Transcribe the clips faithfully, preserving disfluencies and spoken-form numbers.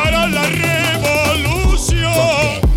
para la revolución.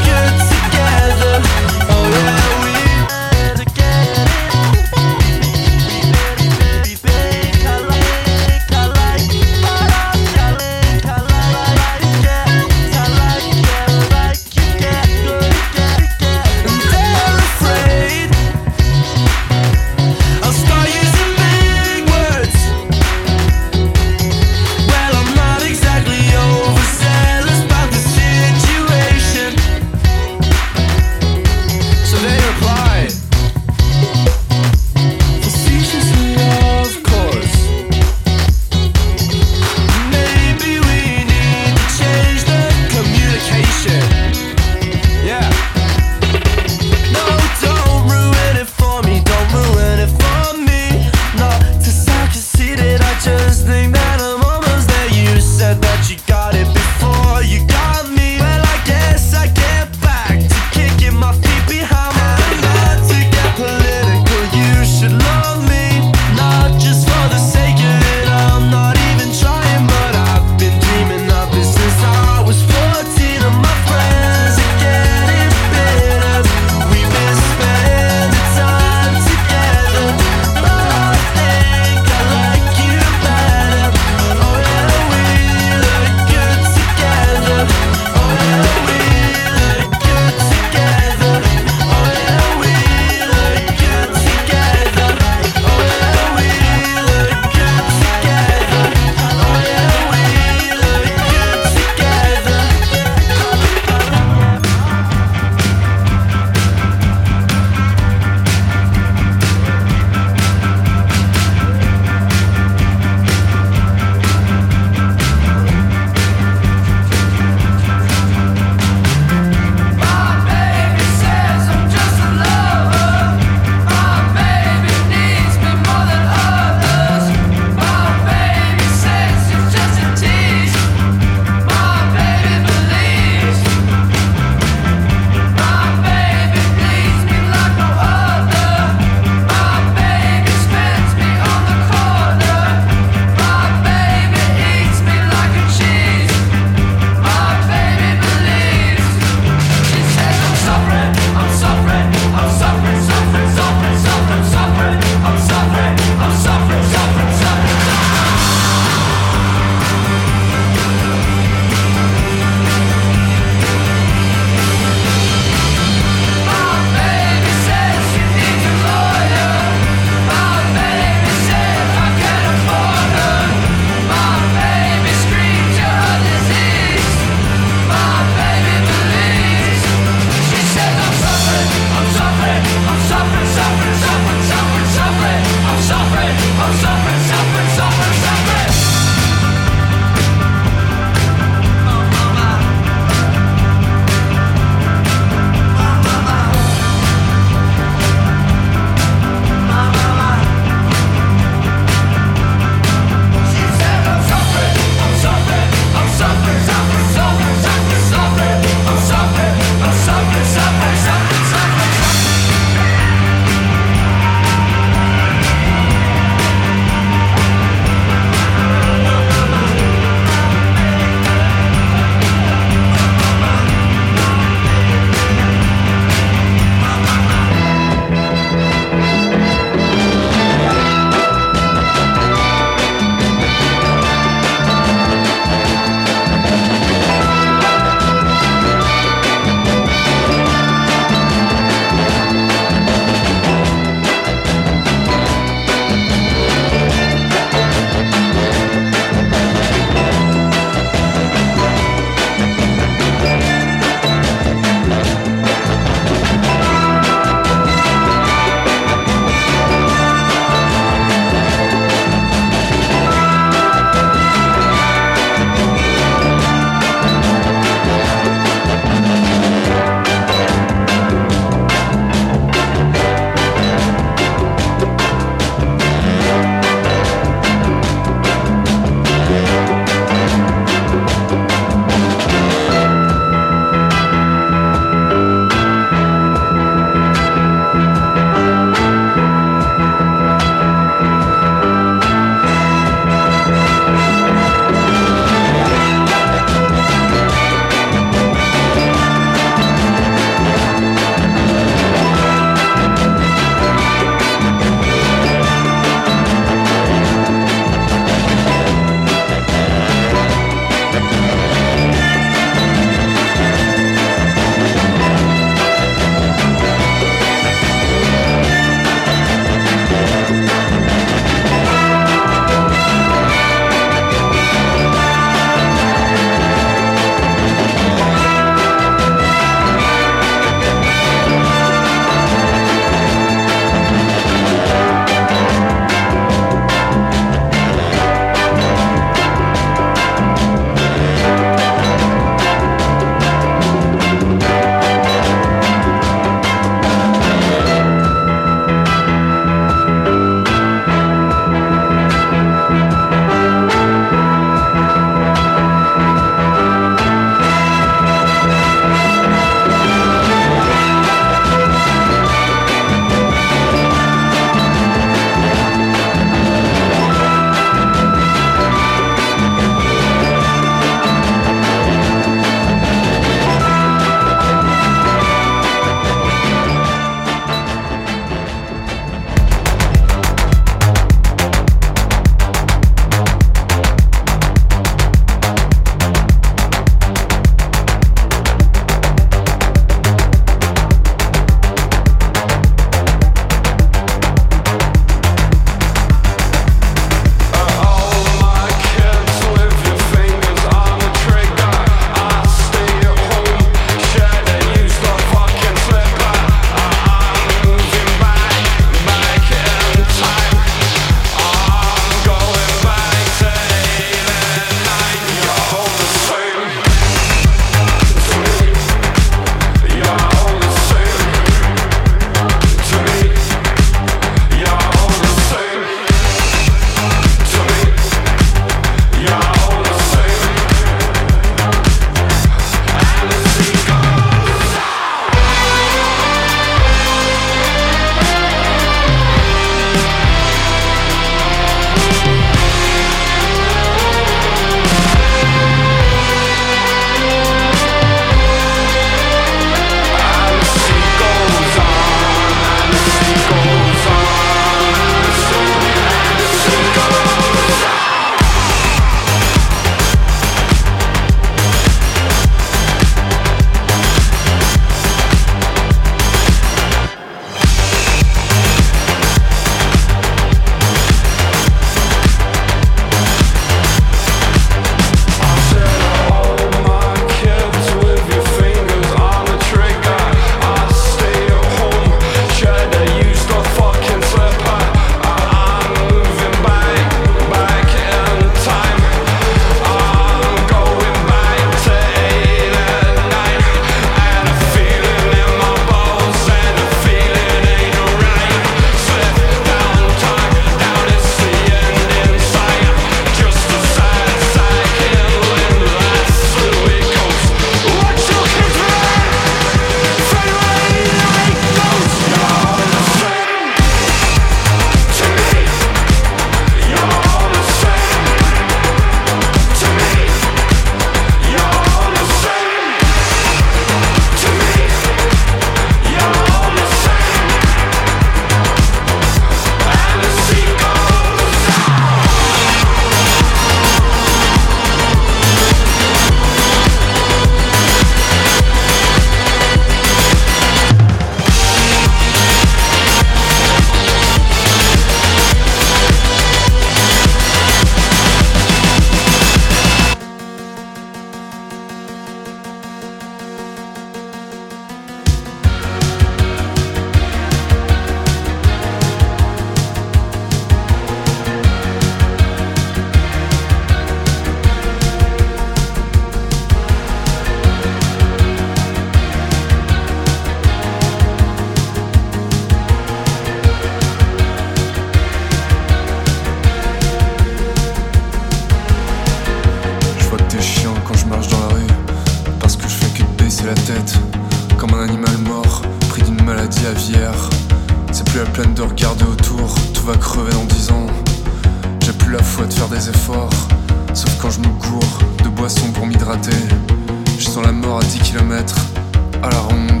peine de regarder autour, tout va crever dans dix ans. J'ai plus la foi de faire des efforts, sauf quand je me gourre de boissons pour m'hydrater. Je sens la mort à dix kilomètres à la ronde.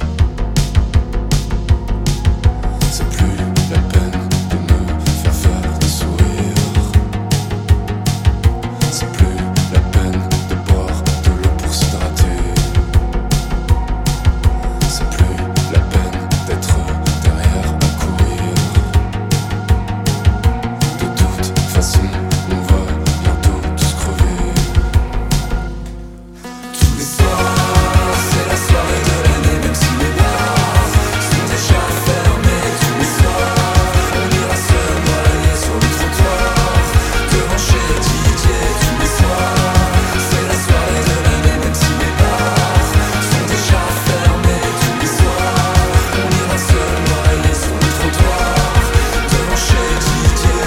C'est plus la peine de me faire faire des sourires. C'est plus la peine de boire de l'eau pour s'hydrater. C'est plus la peine d'être derrière à courir. De toute façon, on va bientôt tous crever. Tous les soirs, c'est la soirée de l'année, même si les bars sont déjà fermés. Tous les soirs, on ira se noyer sur le trottoir devant chez Didier. Tous les soirs, c'est la soirée de l'année, même si les bars sont déjà fermés. Tous les soirs, on ira se noyer sur le trottoir devant chez Didier.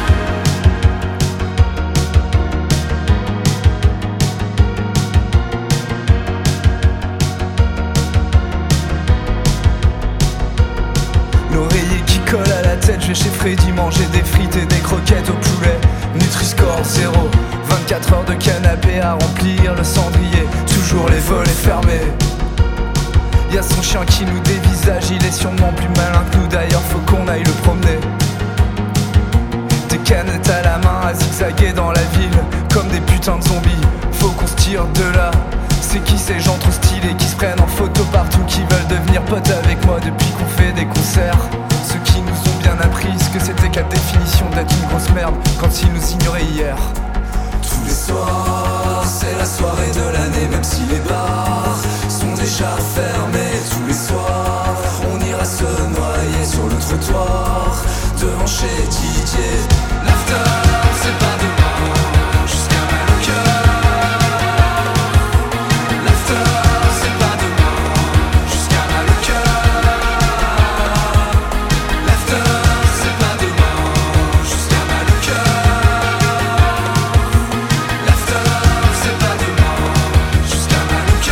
L'oreiller qui colle à la tête, je vais chez Freddy manger des frites et des croquettes au poulet. Nutri-score zéro, vingt-quatre heures de canapé à remplir le cendrier, toujours les volets fermés. Y'a son chien qui nous dévisage, il est sûrement plus malin que nous, d'ailleurs faut qu'on aille le promener. Des canettes à la main à zigzaguer dans la ville, comme des putains de zombies, faut qu'on se tire de là. C'est qui ces gens trop stylés qui se prennent en photo partout, qui veulent devenir potes avec moi depuis qu'on fait des concerts? Ceux qui nous ont bien appris ce que c'était que la définition d'être une grosse merde quand ils nous ignoraient hier. Tous les soirs, c'est la soirée de l'année, même si les bars sont déjà fermés. Tous les soirs, on ira se noyer sur le trottoir devant chez Didier. L'after, c'est pas demain, jusqu'à mal au cœur. L'after, c'est pas demain, jusqu'à mal au cœur. L'after, c'est pas demain, jusqu'à mal au cœur. L'after, c'est pas demain, jusqu'à mal au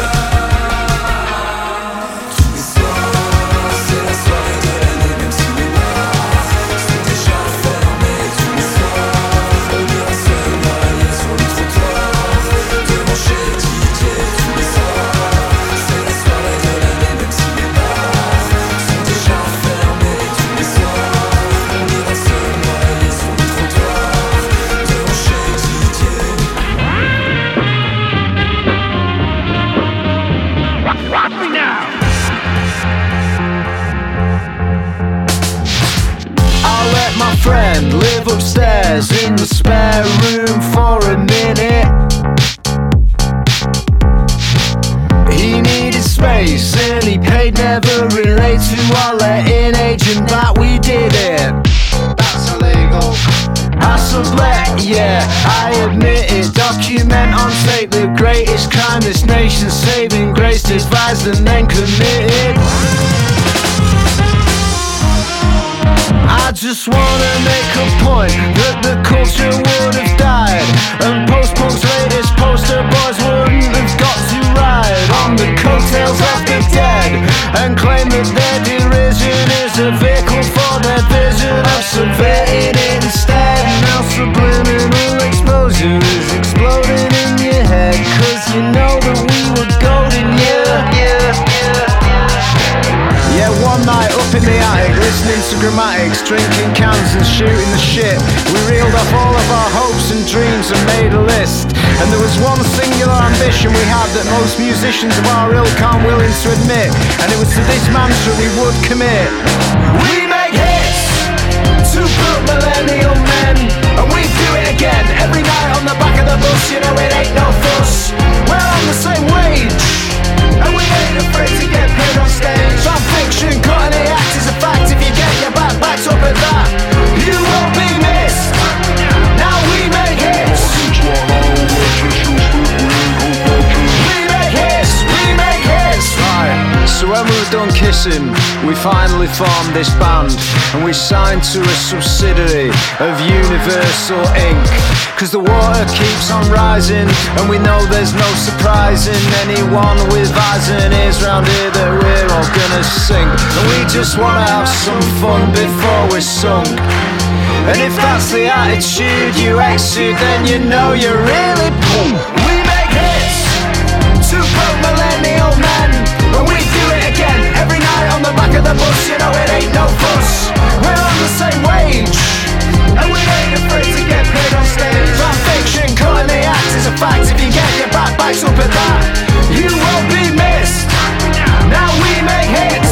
cœur. Tous les soirs, c'est la soirée de l'année, même si les bars sont déjà fermés. Tous les soirs, on ira se noyer sur le trottoir devant chez Didier. Tous les soirs, c'est la soirée de l'année, même si les bars sont déjà fermés. Tous les soirs, on ira se noyer sur le trottoir devant chez Didier. I'll let my friend live upstairs in the spare room for a minute. He needed space and he paid never relate to our letting agent that we did it. That's illegal. I sublet, yeah, I admit it. Document on tape the greatest crime this nation's saving grace, devised and then committed. I just wanna make a point that the culture would have died, and post-punk's latest poster boys wouldn't have got to ride on the coattails of the dead and claim that their derision is a vehicle for their vision of subverting it instead. Now subliminal exposure is exploding in your head, cause you know that we were golden, yeah, yeah, yeah. Yeah, one night up in the attic, listening to grammatics, drinking cans and shooting the shit. We reeled off all of our hopes and dreams and made a list. And there was one singular ambition we had that most musicians of our ilk aren't willing to admit, and it was to this mantra we would commit. We make hits to put millennial men, and we do it again every night on the back of the bus. You know it ain't no fuss. We're on the same wage, and we ain't afraid to get paid on stage. Our fiction, cutting the act is a fact. If you get your back backed up at that, you won't be missed. Now we make hits. We make hits, we make hits. Right, so When we were done kissing, we finally formed this band, and we signed to a subsidiary of Universal Incorporated. Cause the water keeps on rising, and we know there's no surprising anyone with eyes and ears round here that we're all gonna sink. And we just wanna have some fun before we're sunk. And if that's the attitude you exude, then you know you're really boom. We make hits, two broke millennial men, and we do it again every night on the back of the bus. You know it ain't no fuss. We're on the same wage, and we ain't afraid to get paid on stage. Rap fiction, cutting the act is a fact. If you get your back backs up at that, you won't be missed. Now we make hits.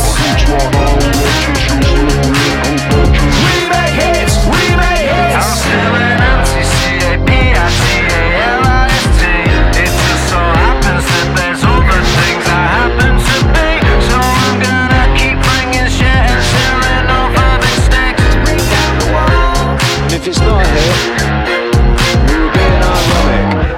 We make hits. We make hits. I'm feeling empty, C A P I T A L I S T. It just so happens that there's all the things I happen to be. So I'm gonna keep bringing shit and selling over big sticks. Bring down the wall. And if it's not a hit, we were being ironic.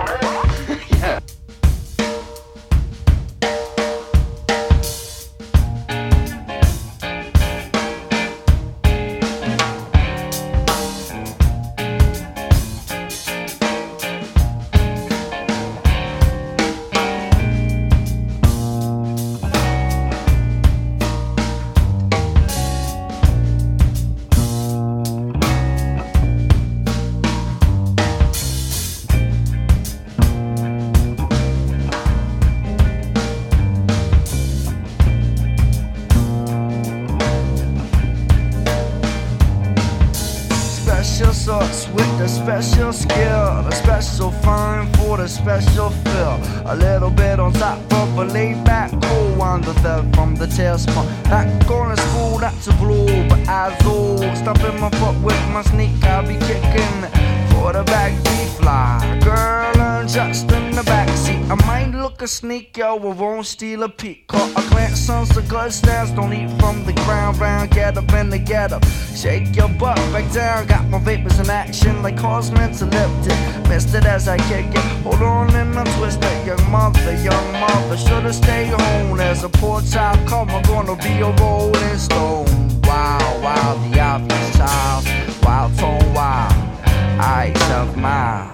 Special sauce with the special skill, the special fun for the special fill. A little bit on top of a laid back cool one, the third from the tailspin. Not going to school, that's a blue, but as old, stomping my foot with my sneak, I'll be kicking for the back fly. Girl, I'm just in the backseat. I might look a sneak, yo, I won't steal a peek. Caught a glance on some good snaps, don't eat from the ground, round, get up and the get up. Shake your butt back down, got my vapors in action like horsemen's elliptic. Missed it as I kick it, hold on and I twist it. Young mother, young mother, should've stayed home. There's a poor child come, I'm gonna be a rolling stone. Wow, wow, the obvious child, wild tone, wild, eyes of mine.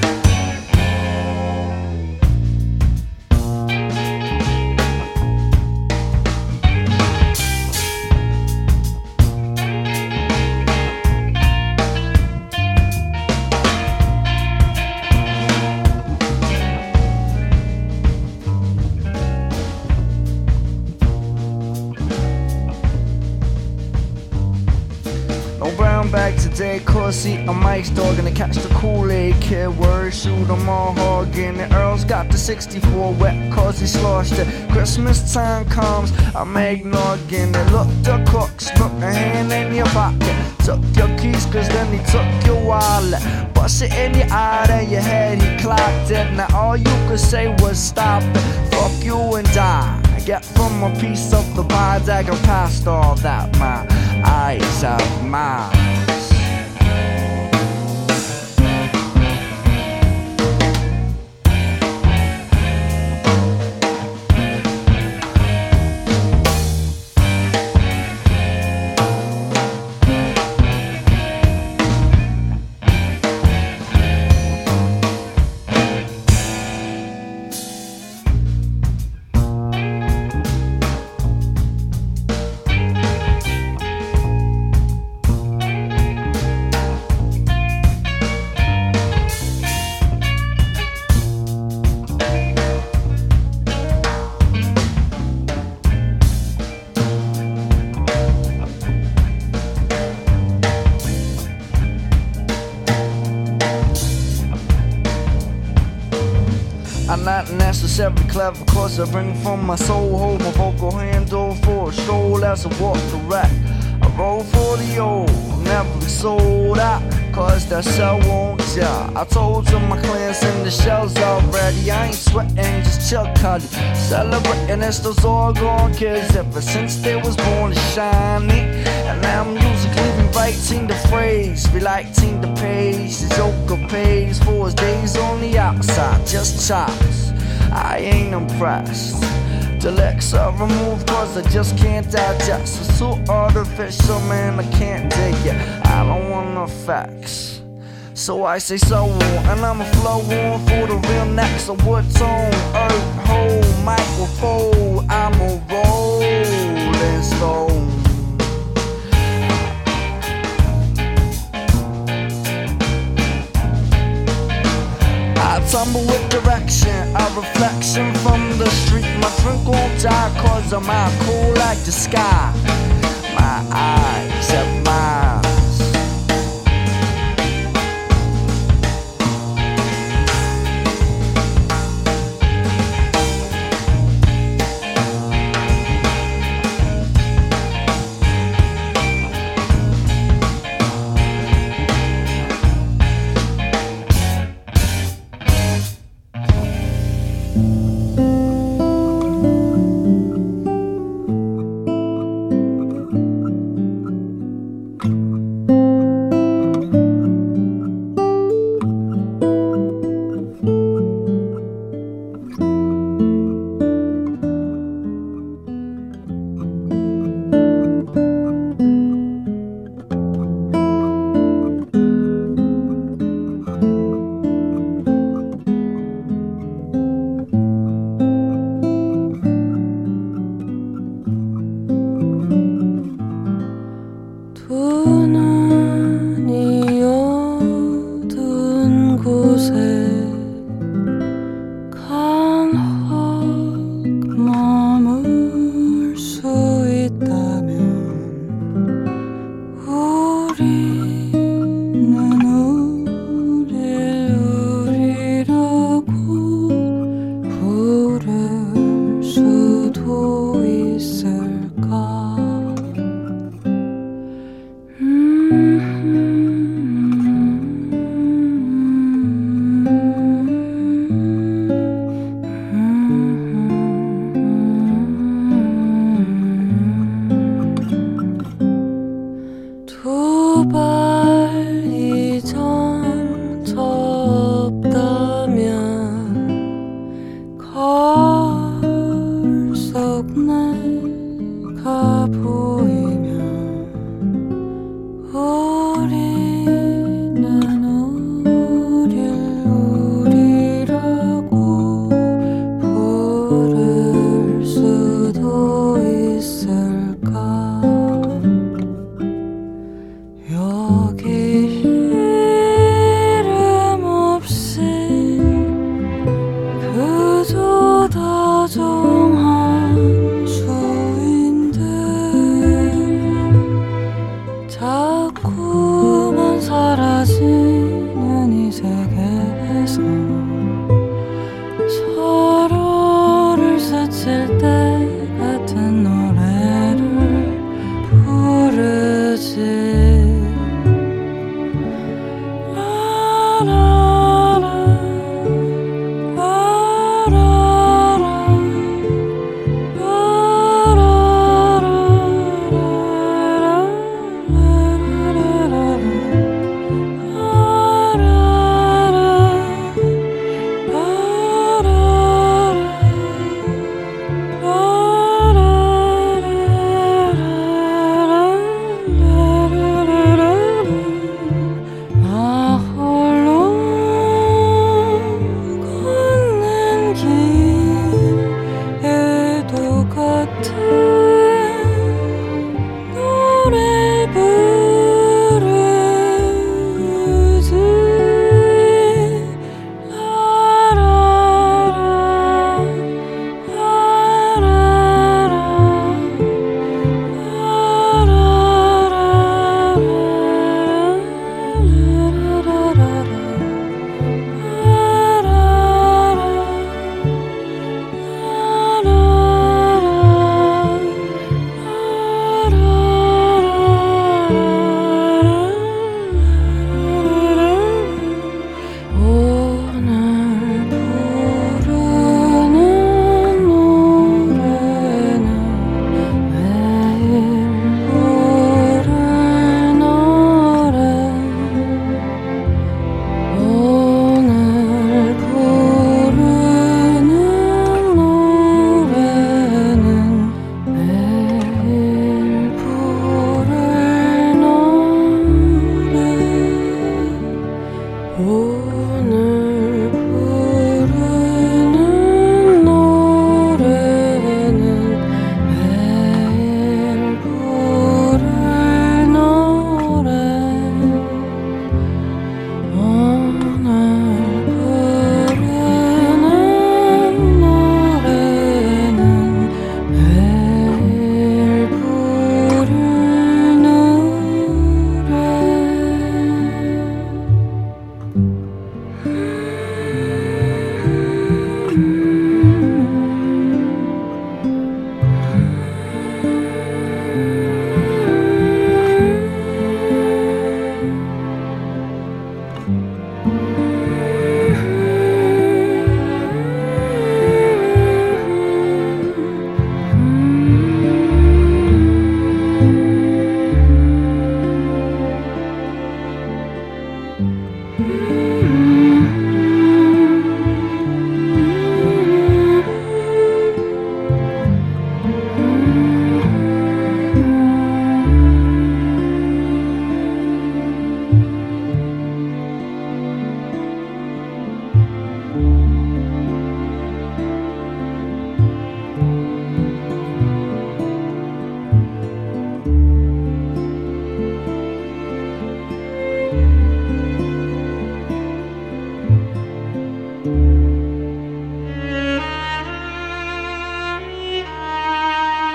Back today, cause see a Mike's dog gonna catch the Kool-Aid kid. Word, shoot 'em all hogging. The Earl's got the sixty-four wet cause he sloshed it. Christmas time comes, I'm eggnogging it. Look, the cook stuck a hand in your pocket. Took your keys cause then he took your wallet. Bust it in your eye, then your head, he clocked it. Now all you could say was stop it. Fuck you and die. Get from a piece of the pie, dagger past all that. My eyes have mine. I'm not necessarily clever, cause I bring from my soul, hold my vocal handle for a stroll as I walk the rack. I roll for the old, never sold out, cause that cell won't tell. I told you my clans in the shells already, I ain't sweating, just chill cuddy. Celebrating it's those all gone kids ever since they was born to shiny. And now musically rewriting the phrase, relighting the page. The Joker pays for his days on the outside, just chops. I ain't impressed. The legs are removed cause I just can't digest. It's so artificial, man, I can't dig it. I don't want no facts, so I say so, and I'ma flow on for the real next. A wood tone, earth, hole, microphone. I'm a rolling stone. I tumble with direction, a reflection from the street. My drink won't die cause I'm out cool like the sky. My eyes have miles. 다정한 수인들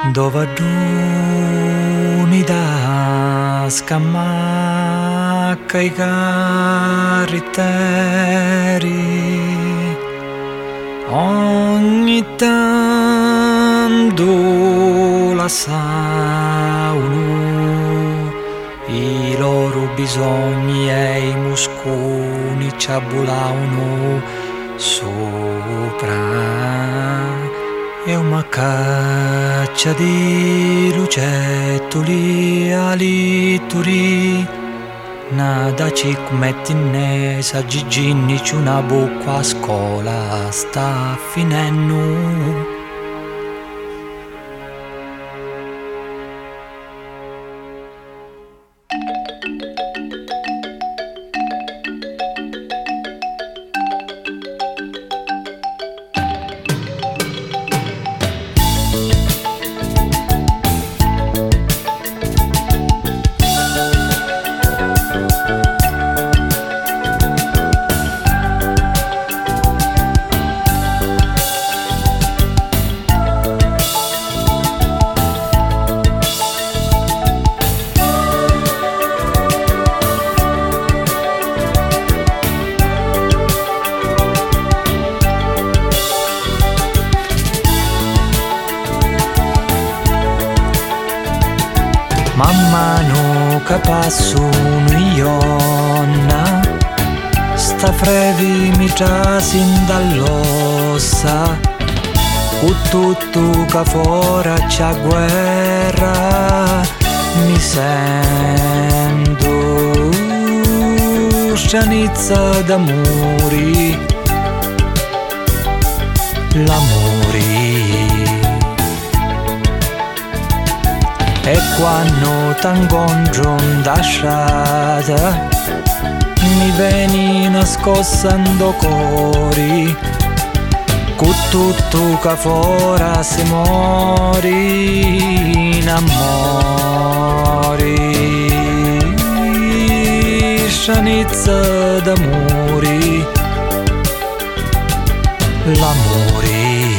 Dova d'unità scamacca i carritteri, ogni tanto la sauno i loro bisogni e i musconi ci abbulavano sopra. E una caccia di lucettoli alituri, nada ci mettinesa giginni c'è una bocca a scuola sta finendo. Man mano che passo ionna, sta frevi mi trasin dall'ossa, cu tutto che fora c'è guerra, mi sento stranizza d'amori, l'amori. E quando t'incontro da strada mi veni nascostando cori, con tutto che fora si mori in amori, stranizza d'amori, l'amori.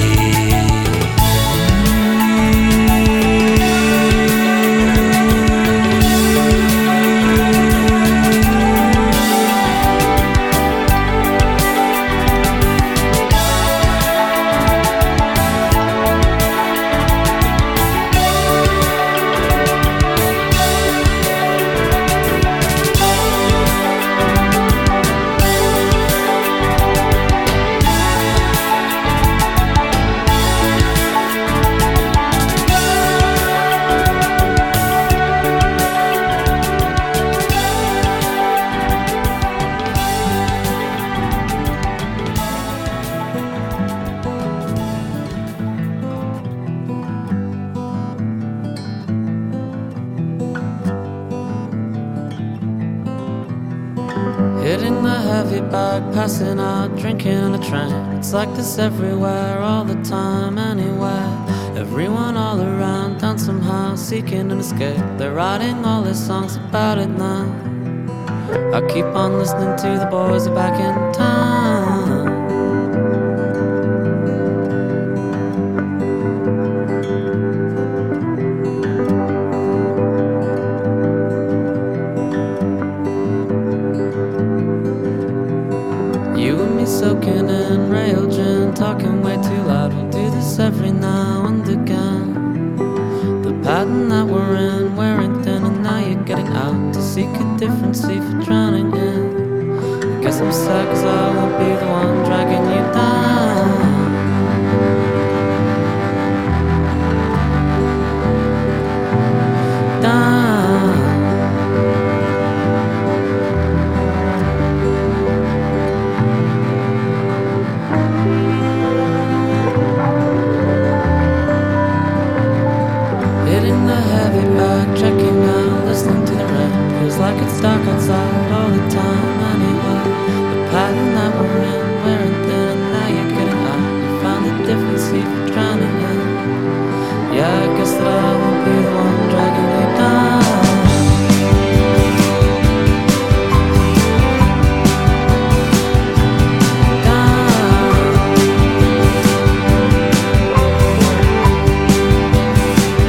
Hitting the heavy bag, passing out, drinking on a train. It's like this everywhere, all the time, anywhere. Everyone all around, down somehow, seeking an escape. They're writing all their songs about it now. I keep on listening to the boys are back in town. Soaking in rail gin, talking way too loud. We'll do this every now and again. The pattern that we're in, wearing thin, and now you're getting out to seek a different sea for drowning in. I guess I'm sad cause I won't be the one dragging you down. Like it's dark outside all the time anyway. The pattern that we're in, wearing thin, and now you're getting out. You found the difference, see for drowning in. Yeah, I guess that I won't be the one dragging you down. Down.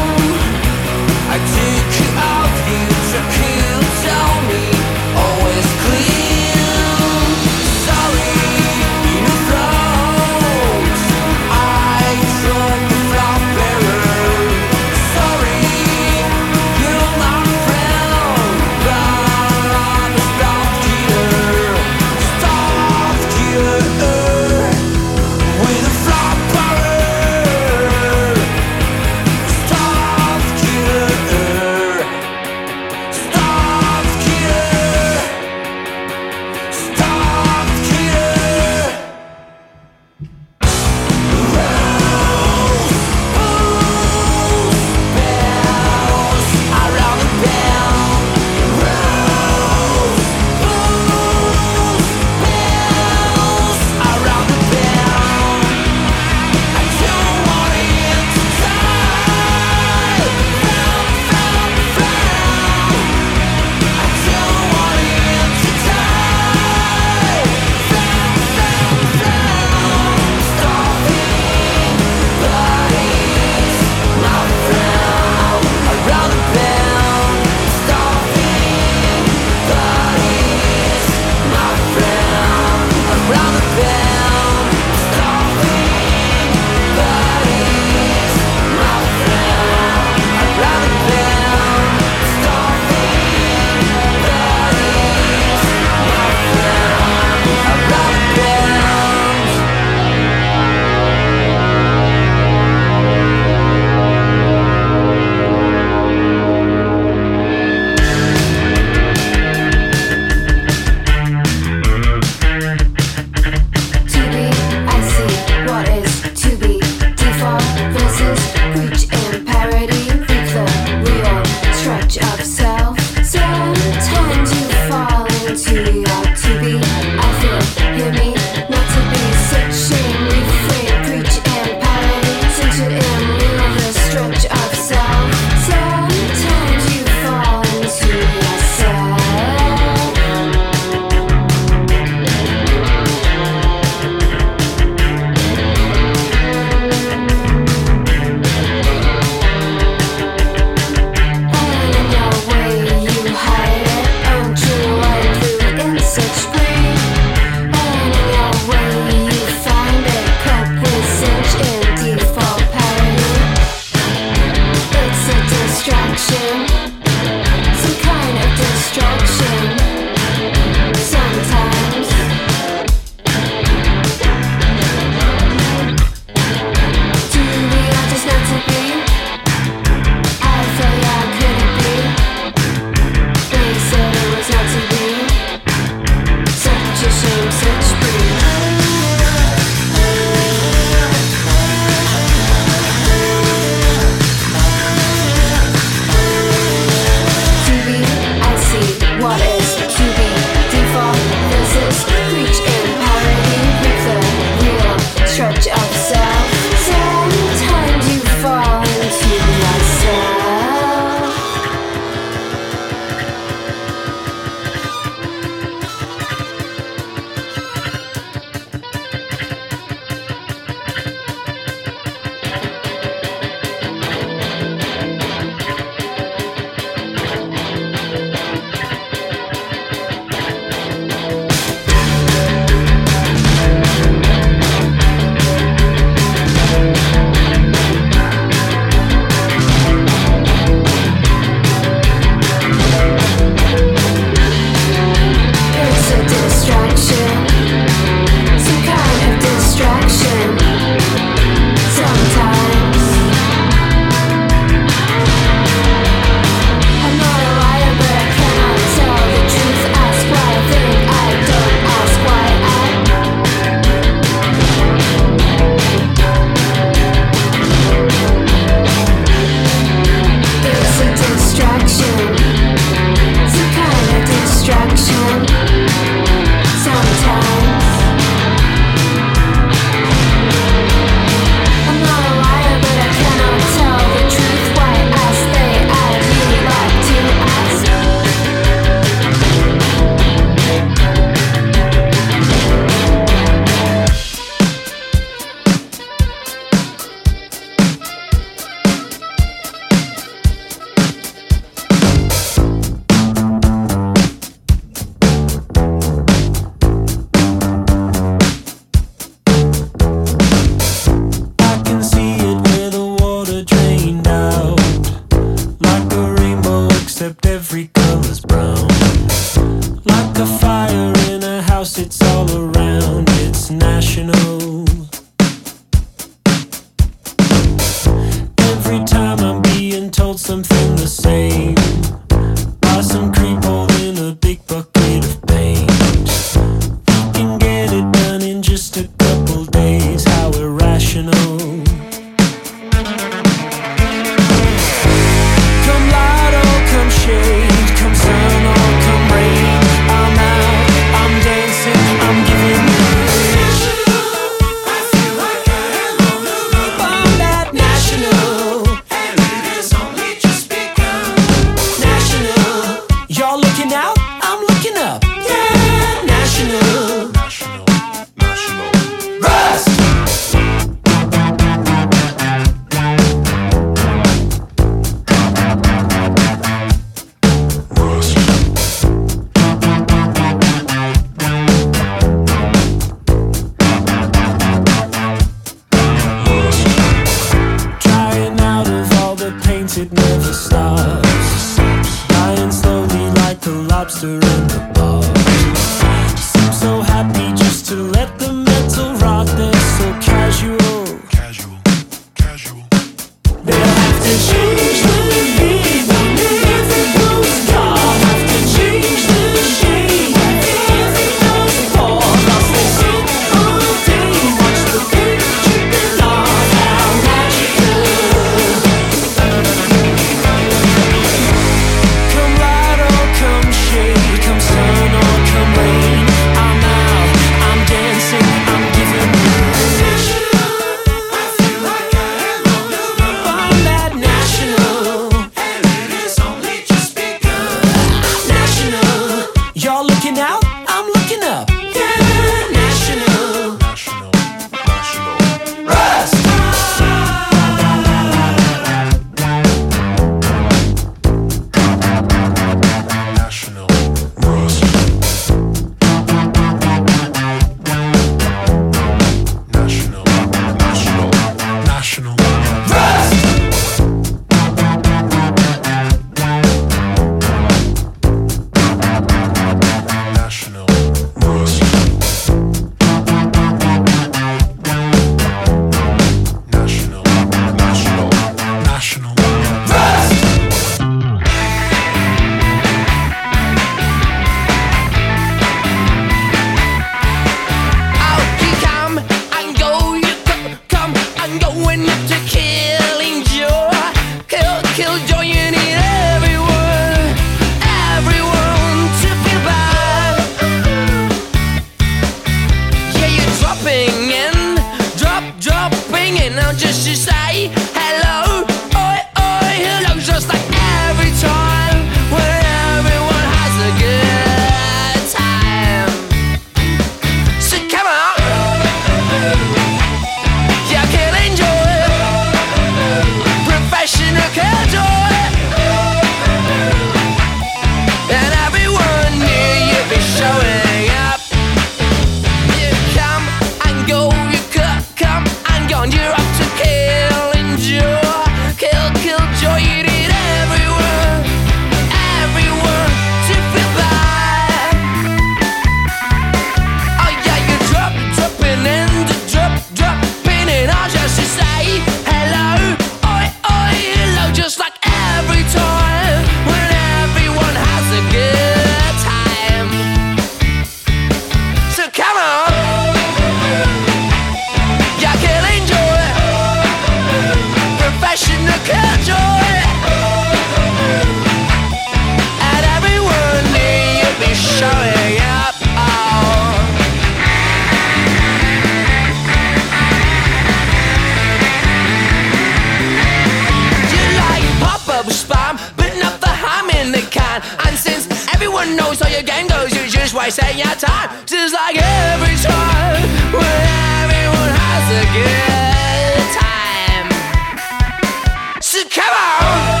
wasting your time, just like every time when everyone has a good time. So come on,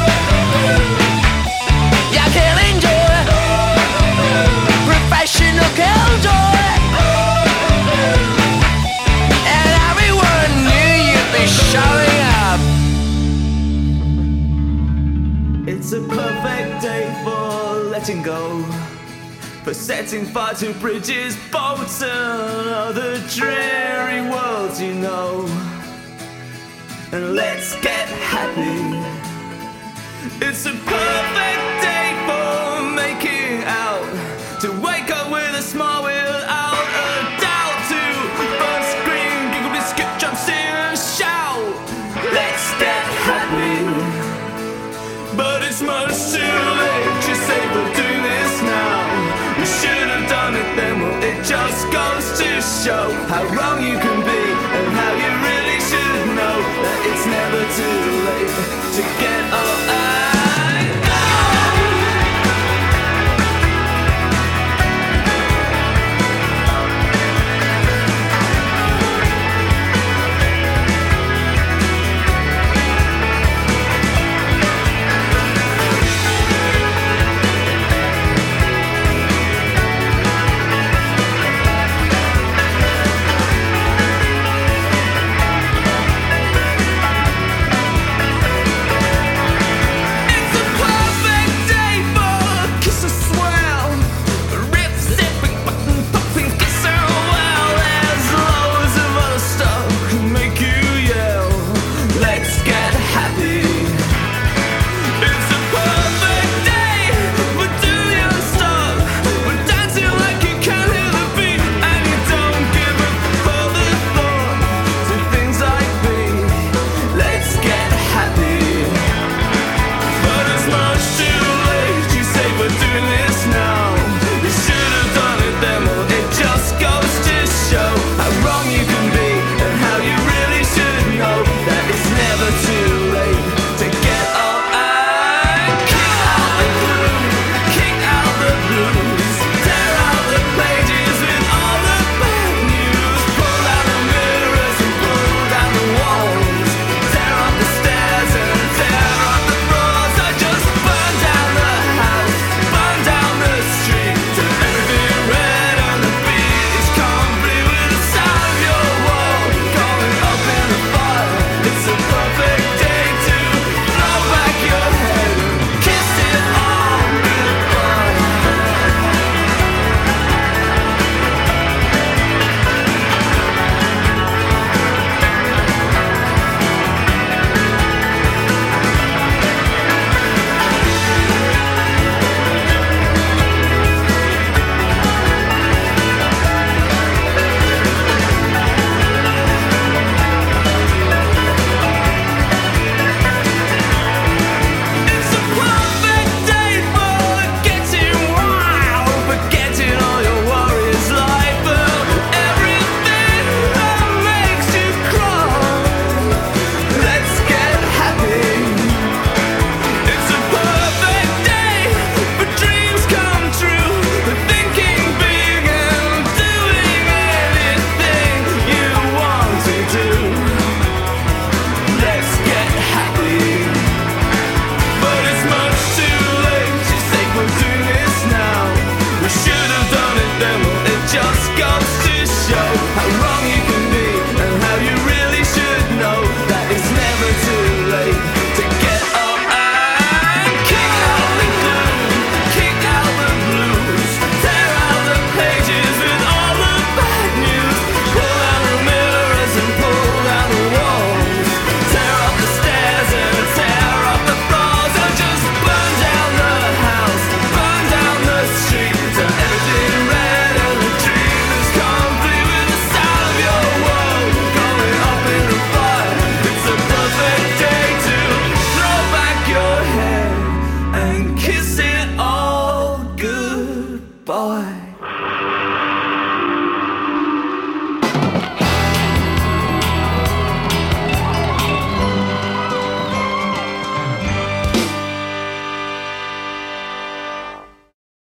you're killing joy, professional killjoy, and everyone knew you'd be showing up. It's a perfect day for letting go, for setting fire to bridges, boats and other dreary worlds you know. And let's get happy. It's a perfect day